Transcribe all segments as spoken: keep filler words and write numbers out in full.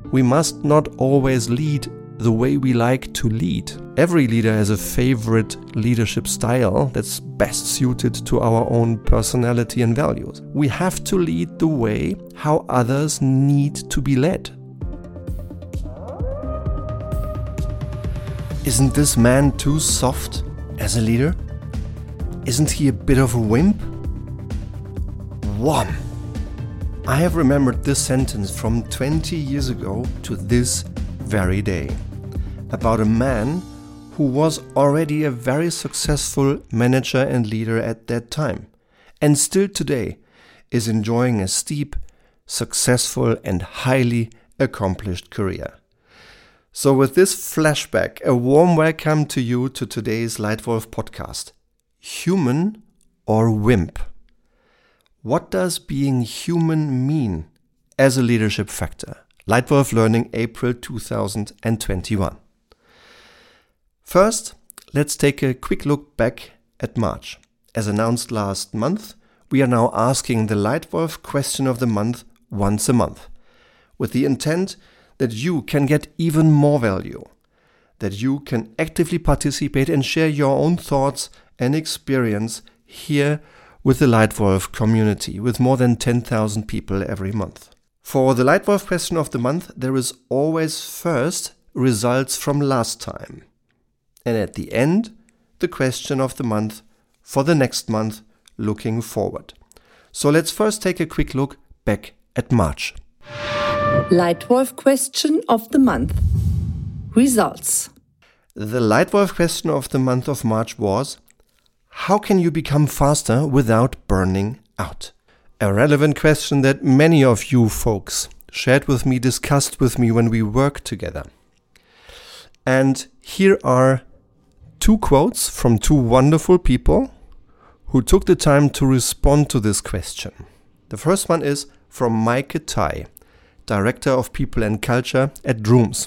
We must not always lead the way we like to lead. Every leader has a favorite leadership style that's best suited to our own personality and values. We have to lead the way how others need to be led. Isn't this man too soft as a leader? Isn't he a bit of a wimp? Wham! I have remembered this sentence from twenty years ago to this very day, about a man who was already a very successful manager and leader at that time, and still today is enjoying a steep, successful and highly accomplished career. So with this flashback, a warm welcome to you to today's Leitwolf podcast. Human or wimp? What does being human mean as a leadership factor? Leitwolf Learning, April two thousand twenty-one. First, let's take a quick look back at March. As announced last month, we are now asking the Leitwolf question of the month once a month, with the intent that you can get even more value, that you can actively participate and share your own thoughts and experience here with the Leitwolf community, with more than ten thousand people every month. For the Leitwolf question of the month, there is always first results from last time, and at the end, the question of the month for the next month looking forward. So let's first take a quick look back at March. Leitwolf question of the month. Results. The Leitwolf question of the month of March was: how can you become faster without burning out? A relevant question that many of you folks shared with me, discussed with me when we worked together. And here are two quotes from two wonderful people who took the time to respond to this question. The first one is from Maike Tai, Director of People and Culture at Drooms.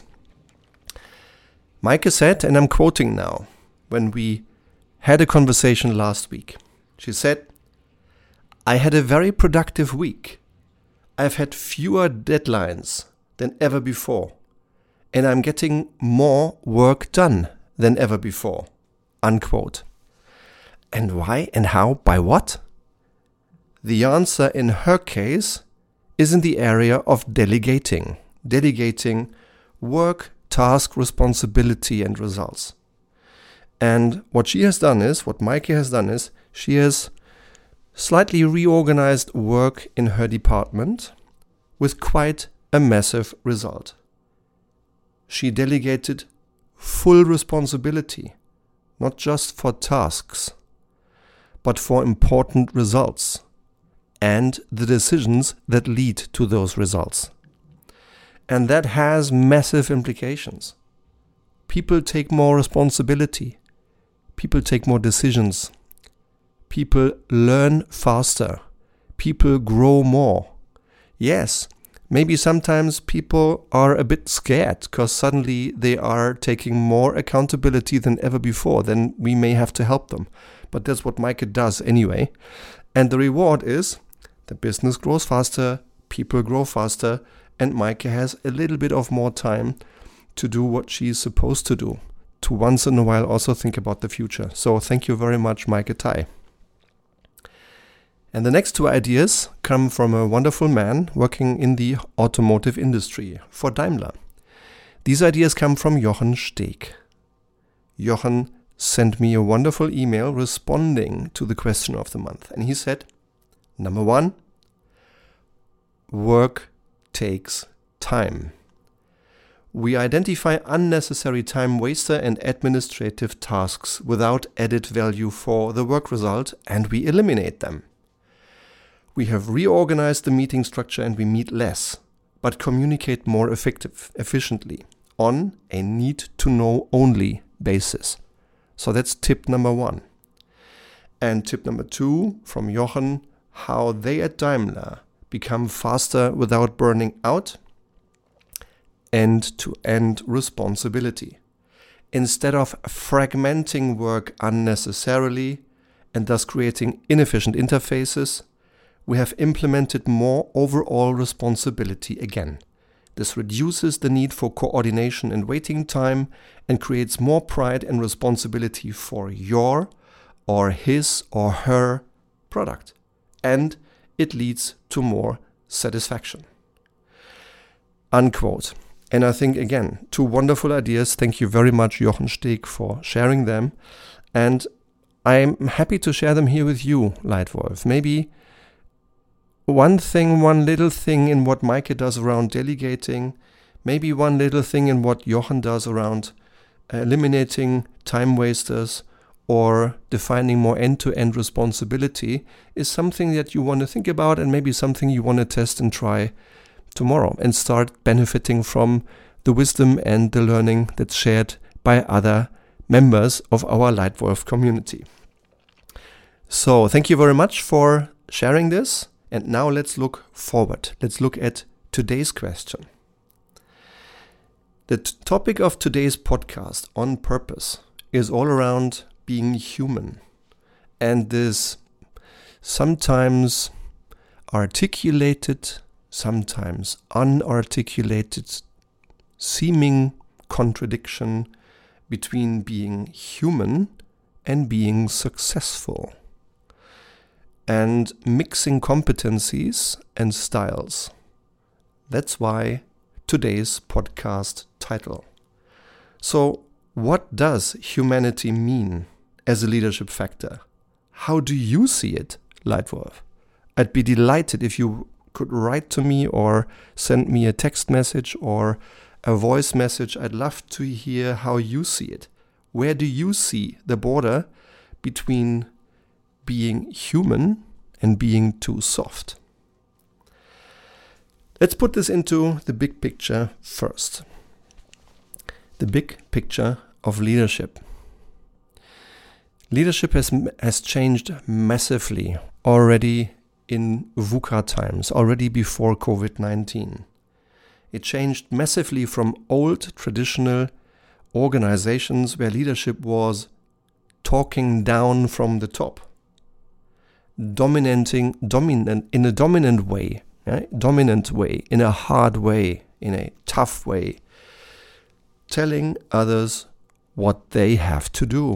Maike said, and I'm quoting now, when we had a conversation last week. She said, I had a very productive week. I've had fewer deadlines than ever before, and I'm getting more work done than ever before. Unquote. And why and how? By what? The answer in her case is in the area of delegating. Delegating work, task, responsibility and results. And what she has done is, what Maike has done is, she has slightly reorganized work in her department with quite a massive result. She delegated full responsibility, not just for tasks, but for important results and the decisions that lead to those results. And that has massive implications. People take more responsibility. People take more decisions. People learn faster. People grow more. Yes, maybe sometimes people are a bit scared because suddenly they are taking more accountability than ever before. Then we may have to help them. But that's what Maike does anyway. And the reward is the business grows faster, people grow faster, and Maike has a little bit of more time to do what she's supposed to do, to once in a while also think about the future. So thank you very much, Maike Tai. And the next two ideas come from a wonderful man working in the automotive industry for Daimler. These ideas come from Jochen Steg. Jochen sent me a wonderful email responding to the question of the month. And he said, number one, work takes time. We identify unnecessary time waster and administrative tasks without added value for the work result, and we eliminate them. We have reorganized the meeting structure and we meet less, but communicate more effective, efficiently on a need-to-know only basis. So that's tip number one. And tip number two from Jochen, how they at Daimler become faster without burning out. End-to-end responsibility. Instead of fragmenting work unnecessarily and thus creating inefficient interfaces, we have implemented more overall responsibility again. This reduces the need for coordination and waiting time and creates more pride and responsibility for your or his or her product. And it leads to more satisfaction. Unquote. And I think, again, two wonderful ideas. Thank you very much, Jochen Steg, for sharing them. And I'm happy to share them here with you, Leitwolf. Maybe one thing, one little thing in what Maike does around delegating, maybe one little thing in what Jochen does around eliminating time wasters or defining more end-to-end responsibility is something that you want to think about, and maybe something you want to test and try tomorrow and start benefiting from the wisdom and the learning that's shared by other members of our Leitwolf community. So thank you very much for sharing this. And now let's look forward. Let's look at today's question. The t- topic of today's podcast, On Purpose, is all around being human. And this sometimes articulated, sometimes unarticulated, seeming contradiction between being human and being successful, and mixing competencies and styles. That's why today's podcast title. So, what does humanity mean as a leadership factor? How do you see it, Leitwolf? I'd be delighted if you could write to me or send me a text message or a voice message. I'd love to hear how you see it. Where do you see the border between being human and being too soft? Let's put this into the big picture first. The big picture of leadership. Leadership has has changed massively already in VUCA times, already before covid nineteen. It changed massively from old traditional organizations where leadership was talking down from the top, dominating, dominant in a dominant way, yeah? dominant way, in a hard way, in a tough way, telling others what they have to do.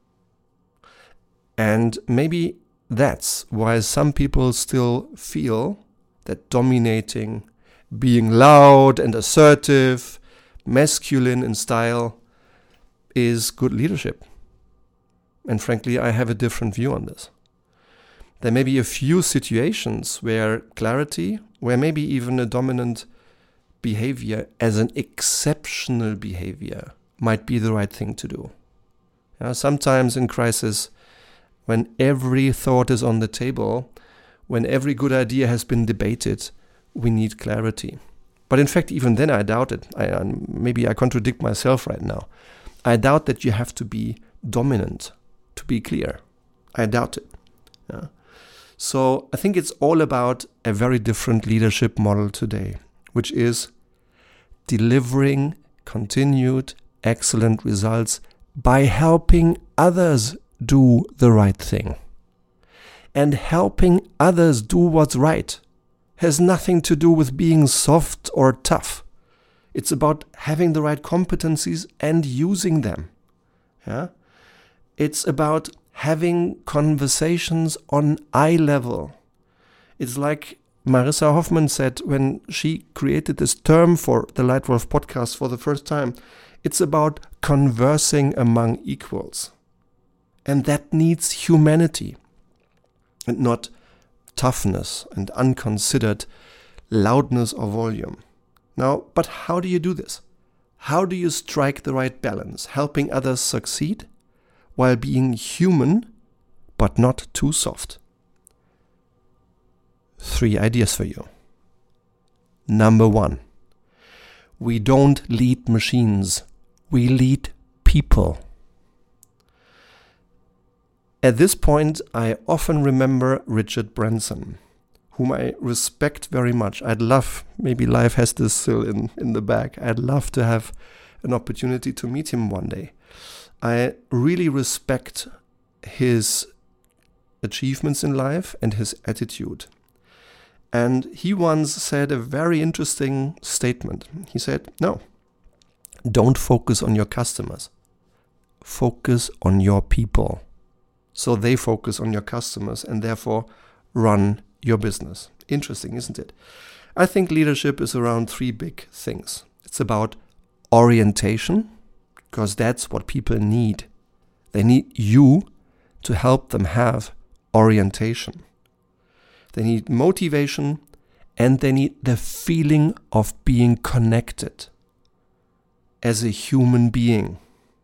And maybe that's why some people still feel that dominating, being loud and assertive, masculine in style, is good leadership. And frankly, I have a different view on this. There may be a few situations where clarity, where maybe even a dominant behavior as an exceptional behavior might be the right thing to do. Yeah, sometimes in crisis, when every thought is on the table, when every good idea has been debated, we need clarity. But in fact, even then I doubt it. I, I, maybe I contradict myself right now. I doubt that you have to be dominant to be clear. I doubt it. Yeah. So I think it's all about a very different leadership model today, which is delivering continued excellent results by helping others do the right thing. And helping others do what's right has nothing to do with being soft or tough. It's about having the right competencies and using them. Yeah? It's about having conversations on eye level. It's like Marissa Hoffman said when she created this term for the Leitwolf podcast for the first time. It's about conversing among equals. And that needs humanity and not toughness and unconsidered loudness or volume. Now, but how do you do this? How do you strike the right balance, helping others succeed while being human but not too soft? Three ideas for you. Number one, we don't lead machines, we lead people. At this point, I often remember Richard Branson, whom I respect very much. I'd love, maybe life has this still in, in the bag, I'd love to have an opportunity to meet him one day. I really respect his achievements in life and his attitude. And he once said a very interesting statement. He said, no, don't focus on your customers. Focus on your people. So they focus on your customers and therefore run your business. Interesting, isn't it? I think leadership is around three big things. It's about orientation, because that's what people need. They need you to help them have orientation. They need motivation, and they need the feeling of being connected as a human being.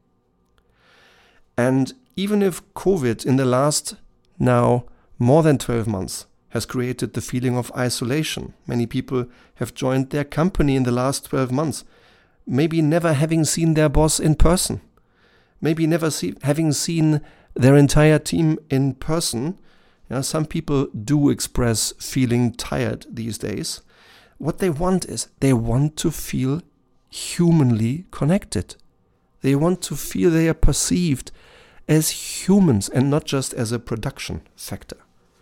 And even if COVID in the last now more than twelve months has created the feeling of isolation, many people have joined their company in the last twelve months, maybe never having seen their boss in person, maybe never see, having seen their entire team in person. You know, some people do express feeling tired these days. What they want is they want to feel humanly connected. They want to feel they are perceived as humans and not just as a production factor.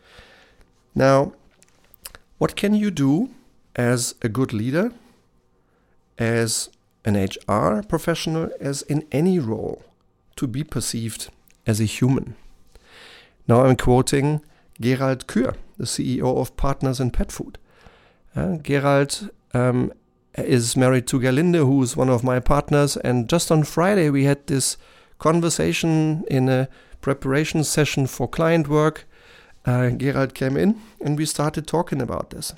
Now, what can you do as a good leader, as an H R professional, as in any role, to be perceived as a human? Now I'm quoting Gerald Kür, the C E O of Partners in Pet Food. Uh, Gerald um, is married to Gerlinde, who is one of my partners, and just on Friday we had this conversation in a preparation session for client work. Uh, Gerald came in and we started talking about this.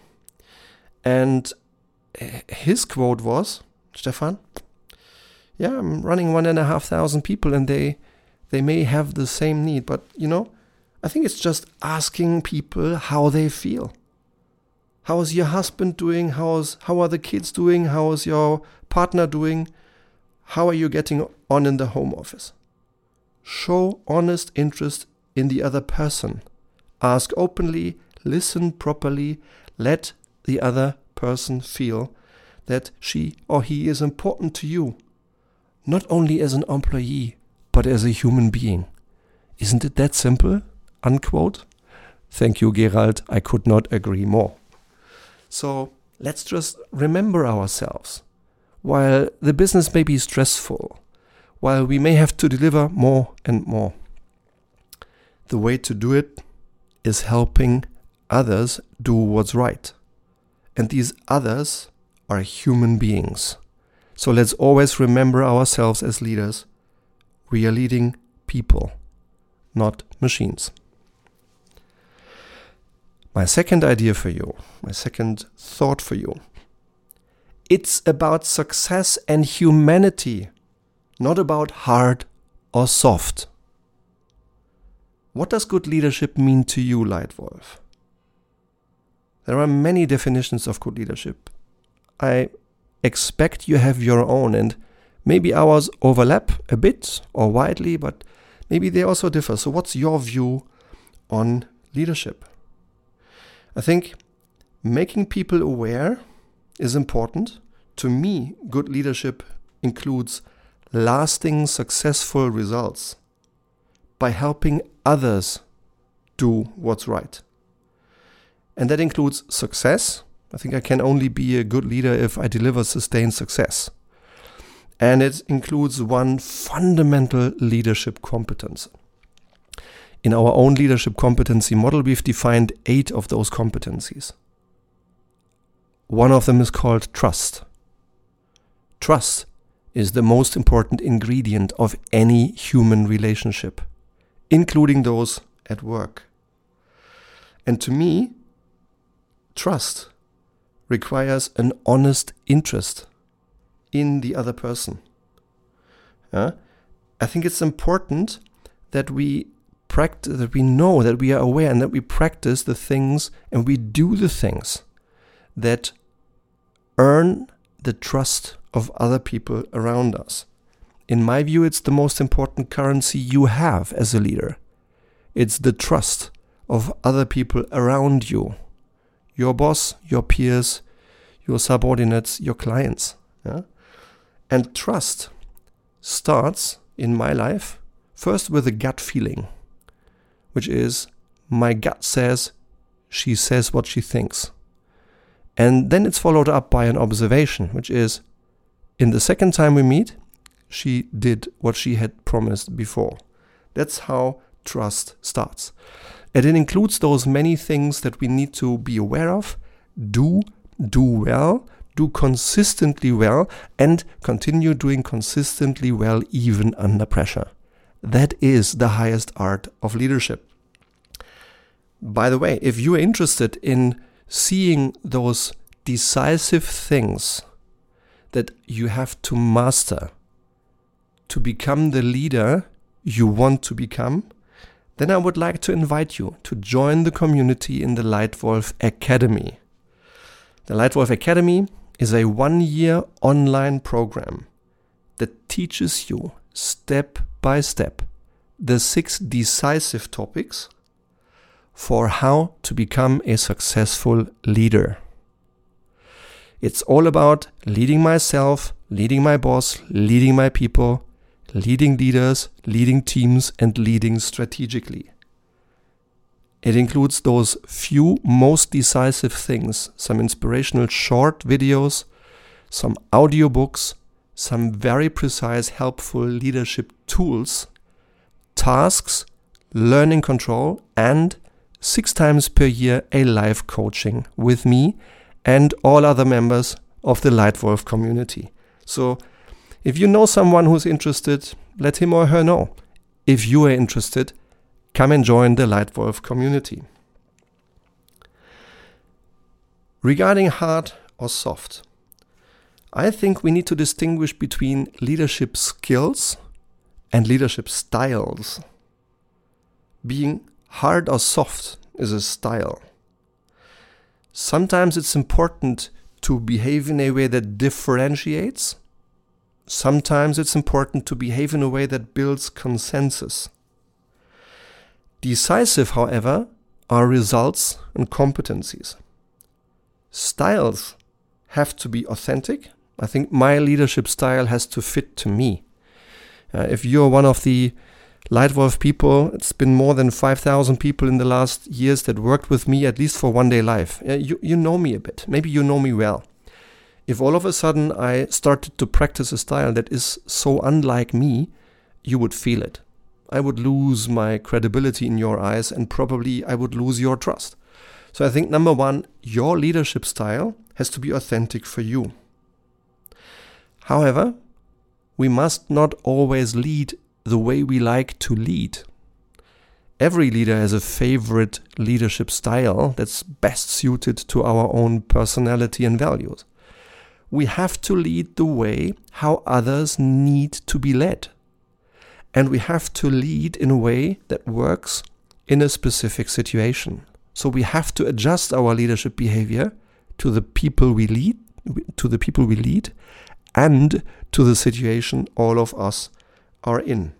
And his quote was, Stefan, yeah, I'm running one and a half thousand people and they they may have the same need, but you know, I think it's just asking people how they feel. How is your husband doing? How is, how are the kids doing? How is your partner doing? How are you getting on in the home office? Show honest interest in the other person. Ask openly, listen properly, let the other person feel that she or he is important to you, not only as an employee, but as a human being. Isn't it that simple? Unquote. Thank you, Gerald. I could not agree more. So let's just remember ourselves. While the business may be stressful, while we may have to deliver more and more, the way to do it is helping others do what's right. And these others are human beings. So let's always remember ourselves as leaders. We are leading people, not machines. My second idea for you, my second thought for you. It's about success and humanity, not about hard or soft. What does good leadership mean to you, Leitwolf? There are many definitions of good leadership. I expect you have your own, and maybe ours overlap a bit or widely, but maybe they also differ. So what's your view on leadership? I think making people aware is important. To me, good leadership includes lasting, successful results by helping others do what's right. And that includes success. I think I can only be a good leader if I deliver sustained success. And it includes one fundamental leadership competence. In our own leadership competency model, we've defined eight of those competencies. One of them is called trust. Trust is the most important ingredient of any human relationship, including those at work. And to me, trust requires an honest interest in the other person. Uh, I think it's important that we practice, that we know, that we are aware, and that we practice the things and we do the things that earn the trust of other people around us. In my view, it's the most important currency you have as a leader. It's the trust of other people around you. Your boss, your peers, your subordinates, your clients. Yeah? And trust starts, in my life, first with a gut feeling, which is my gut says she says what she thinks. And then it's followed up by an observation, which is, in the second time we meet, she did what she had promised before. That's how trust starts. And it includes those many things that we need to be aware of, do, do well, do consistently well, and continue doing consistently well even under pressure. That is the highest art of leadership. By the way, if you are interested in seeing those decisive things that you have to master to become the leader you want to become, then I would like to invite you to join the community in the Leitwolf Academy. The Leitwolf Academy is a one-year online program that teaches you step by step the six decisive topics for how to become a successful leader. It's all about leading myself, leading my boss, leading my people, leading leaders, leading teams, and leading strategically. It includes those few most decisive things, some inspirational short videos, some audiobooks, some very precise, helpful leadership tools, tasks, learning control, and six times per year a live coaching with me and all other members of the Leitwolf community. So if you know someone who's interested, let him or her know. If you are interested, come and join the Leitwolf community. Regarding hard or soft, I think we need to distinguish between leadership skills and leadership styles. Being hard or soft is a style. Sometimes it's important to behave in a way that differentiates. Sometimes it's important to behave in a way that builds consensus. Decisive, however, are results and competencies. Styles have to be authentic. I think my leadership style has to fit to me. Uh, if you're one of the Leitwolf people, it's been more than five thousand people in the last years that worked with me at least for one day live. Uh, you, you know me a bit. Maybe you know me well. If all of a sudden I started to practice a style that is so unlike me, you would feel it. I would lose my credibility in your eyes, and probably I would lose your trust. So I think number one, your leadership style has to be authentic for you. However, we must not always lead the way we like to lead. Every leader has a favorite leadership style that's best suited to our own personality and values. We have to lead the way how others need to be led. And we have to lead in a way that works in a specific situation. So we have to adjust our leadership behavior to the people we lead, to the people we lead, and to the situation all of us are in.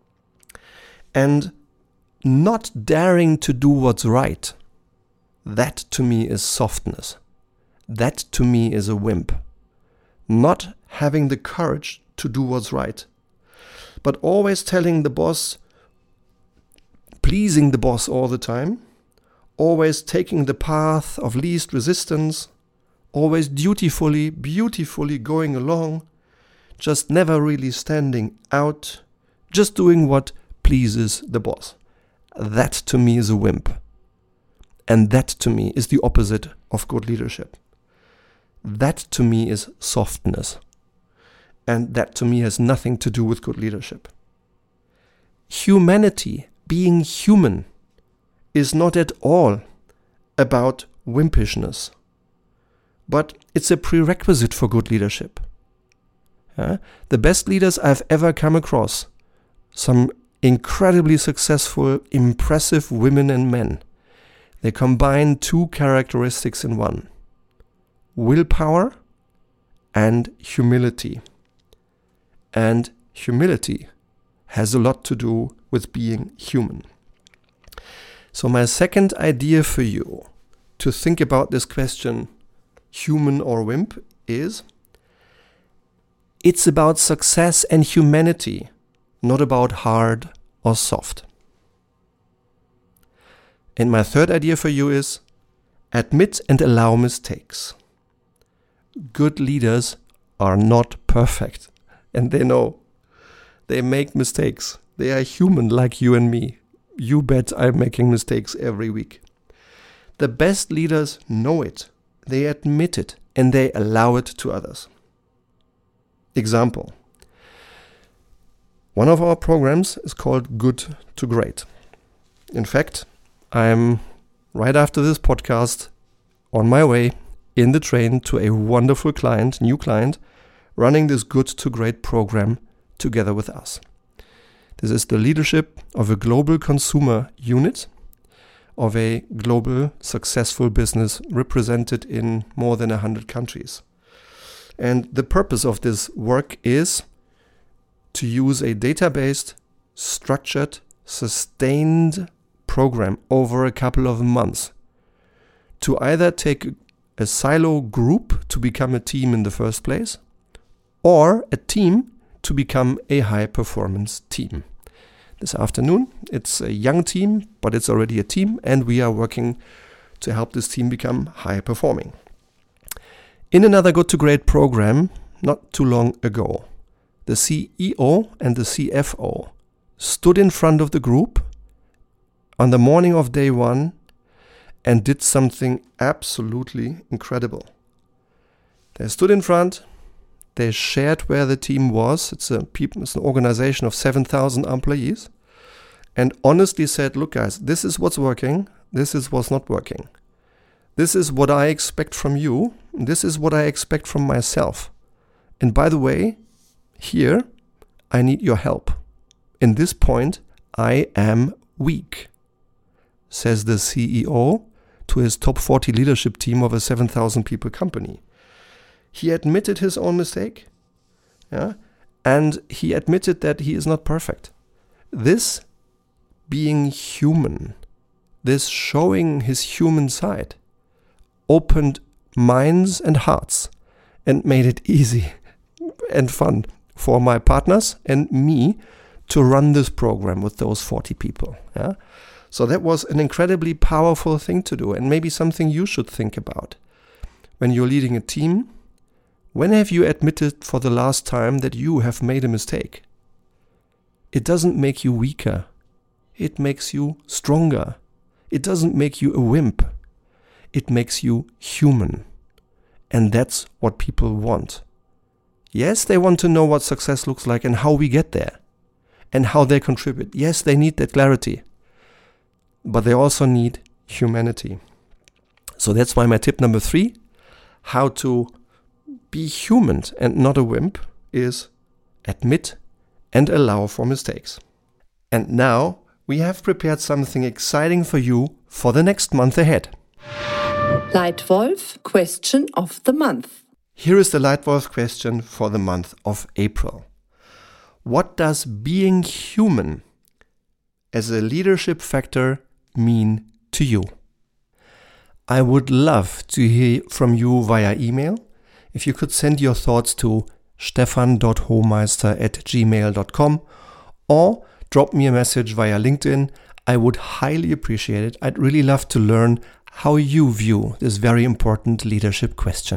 And not daring to do what's right, that to me is softness. That to me is a wimp. Not having the courage to do what's right, but always telling the boss, pleasing the boss all the time, always taking the path of least resistance, always dutifully, beautifully going along, just never really standing out, just doing what pleases the boss. That to me is a wimp. And that to me is the opposite of good leadership. That to me is softness. And that to me has nothing to do with good leadership. Humanity, being human, is not at all about wimpishness. But it's a prerequisite for good leadership. Uh, the best leaders I've ever come across, some incredibly successful, impressive women and men, they combine two characteristics in one: willpower and humility. And humility has a lot to do with being human. So my second idea for you to think about this question, human or wimp, is it's about success and humanity, not about hard or soft. And my third idea for you is admit and allow mistakes. good leaders are not perfect. And they know. They make mistakes. They are human like you and me. You bet I'm making mistakes every week. The best leaders know it. They admit it and they allow it to others. Example. One of our programs is called Good to Great. In fact, I'm right after this podcast on my way in the train to a wonderful client, new client, running this Good to Great program together with us. This is the leadership of a global consumer unit of a global successful business represented in more than one hundred countries. And the purpose of this work is to use a data-based, structured, sustained program over a couple of months to either take a silo group to become a team in the first place or a team to become a high-performance team. This afternoon, it's a young team, but it's already a team, and we are working to help this team become high-performing. In another Good to Great program, not too long ago, the C E O and the C F O stood in front of the group on the morning of day one and did something absolutely incredible. They stood in front, they shared where the team was. It's a people, it's an organization of seven thousand employees, and honestly said, look guys, this is what's working, this is what's not working. This is what I expect from you, this is what I expect from myself. And by the way, here, I need your help. In this point, I am weak, says the C E O to his top forty leadership team of a seven thousand people company. He admitted his own mistake, yeah, and he admitted that he is not perfect. This being human, this showing his human side, opened minds and hearts and made it easy and fun for my partners and me to run this program with those forty people. Yeah? So that was an incredibly powerful thing to do, and maybe something you should think about. When you're leading a team, when have you admitted for the last time that you have made a mistake? It doesn't make you weaker. It makes you stronger. It doesn't make you a wimp. It makes you human. And that's what people want. Yes, they want to know what success looks like and how we get there and how they contribute. Yes, they need that clarity, but they also need humanity. So that's why my tip number three, how to be human and not a wimp, is admit and allow for mistakes. And now we have prepared something exciting for you for the next month ahead. Leitwolf question of the month. Here is the Leitwolf question for the month of April. What does being human as a leadership factor mean to you? I would love to hear from you via email. If you could send your thoughts to stefan dot hohmeister at gmail dot com or drop me a message via LinkedIn. I would highly appreciate it. I'd really love to learn how you view this very important leadership question.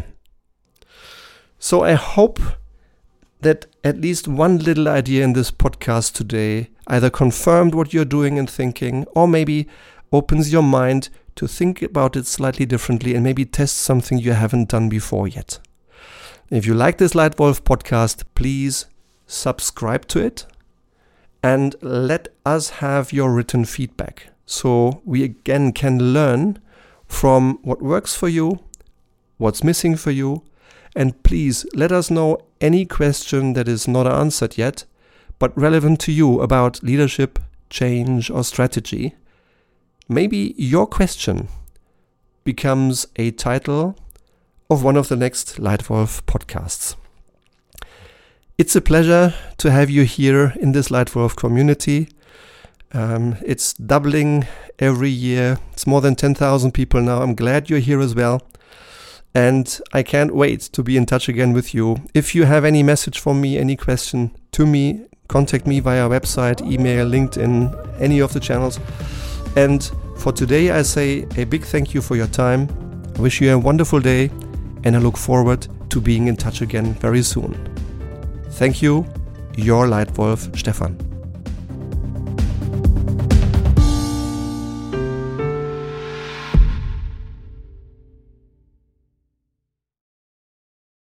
So I hope that at least one little idea in this podcast today either confirmed what you're doing and thinking, or maybe opens your mind to think about it slightly differently and maybe test something you haven't done before yet. If you like this Leitwolf podcast, please subscribe to it and let us have your written feedback so we again can learn from what works for you, what's missing for you, and please let us know any question that is not answered yet, but relevant to you about leadership, change, or strategy. Maybe your question becomes a title of one of the next Leitwolf podcasts. It's a pleasure to have you here in this Leitwolf community. Um, it's doubling every year. It's more than ten thousand people now. I'm glad you're here as well. And I can't wait to be in touch again with you. If you have any message for me, any question to me, contact me via website, email, LinkedIn, any of the channels. And for today, I say a big thank you for your time. I wish you a wonderful day, and I look forward to being in touch again very soon. Thank you, your Lightwolf Stefan.